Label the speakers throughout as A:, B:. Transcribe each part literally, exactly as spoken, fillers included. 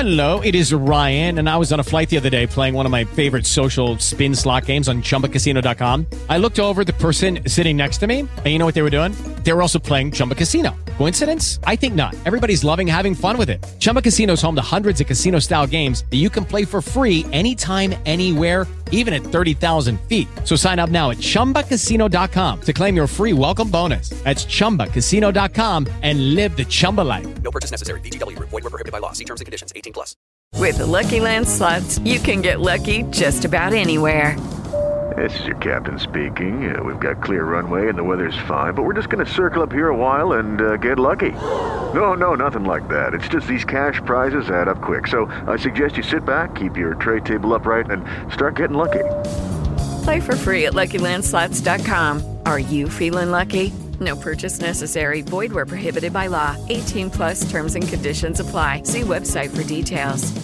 A: Hello, it is Ryan, and I was on a flight the other day playing one of my favorite social spin slot games on Chumba Casino dot com. I looked over at the person sitting next to me, and you know what they were doing? They were also playing Chumba Casino. Coincidence? I think not. Everybody's loving having fun with it. Chumba Casino is home to hundreds of casino-style games that you can play for free anytime, anywhere, even at thirty thousand feet. So sign up now at Chumba Casino dot com to claim your free welcome bonus. That's Chumba Casino dot com and live the Chumba life.
B: No purchase necessary. V G W. Void where prohibited by law. See terms and conditions. eighteen plus.
C: With the Lucky Land Slots, you can get lucky just about anywhere.
D: This is your captain speaking. Uh, we've got clear runway and the weather's fine, but we're just going to circle up here a while and uh, get lucky. No, no, nothing like that. It's just these cash prizes add up quick. So I suggest you sit back, keep your tray table upright, and start getting lucky.
C: Play for free at Lucky Land Slots dot com. Are you feeling lucky? No purchase necessary. Void where prohibited by law. eighteen plus terms and conditions apply. See website for details.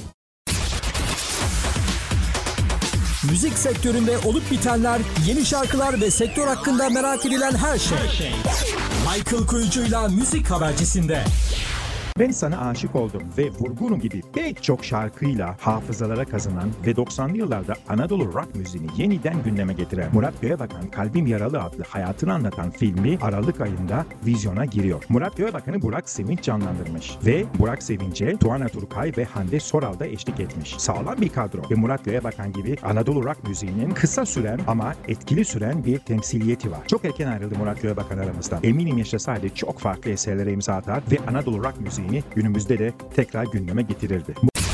E: Müzik sektöründe olup bitenler, yeni şarkılar ve sektör hakkında merak edilen her şey. Michael Kuyucu'yla Müzik Habercisi'nde.
F: Ben Sana Aşık Oldum ve Vurgunum gibi pek çok şarkıyla hafızalara kazınan ve doksanlı yıllarda Anadolu rock müziğini yeniden gündeme getiren Murat Göğebakan Kalbim Yaralı adlı hayatını anlatan filmi Aralık ayında vizyona giriyor. Murat Göğebakan'ı Burak Sevinç canlandırmış ve Burak Sevinç'e Tuana Turkay ve Hande Soral da eşlik etmiş. Sağlam bir kadro ve Murat Göğebakan gibi Anadolu rock müziğinin kısa süren ama etkili süren bir temsiliyeti var. Çok erken ayrıldı Murat Göğebakan aramızdan. Eminim yaşasaydı çok farklı eserlere imza atar ve Anadolu rock müziği günümüzde de tekrar gündeme getirirdi.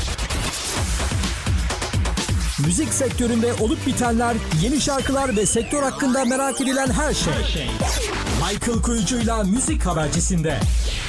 E: Müzik sektöründe olup bitenler, yeni şarkılar ve sektör hakkında merak edilen her şey. Michael Kuyucu'yla Müzik Habercisi'nde.